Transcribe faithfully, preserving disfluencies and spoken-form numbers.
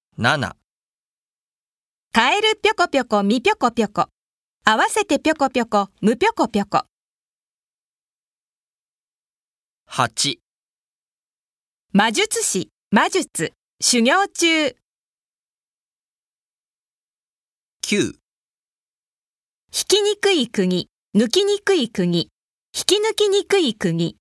なな、 カエルぴょこぴょこみぴょこぴょこ。合わせてぴょこぴょこむぴょこぴょこ。 はち、 魔術師、魔術、修行中。 きゅう、 引きにくい釘、抜きにくい釘、引き抜きにくい釘。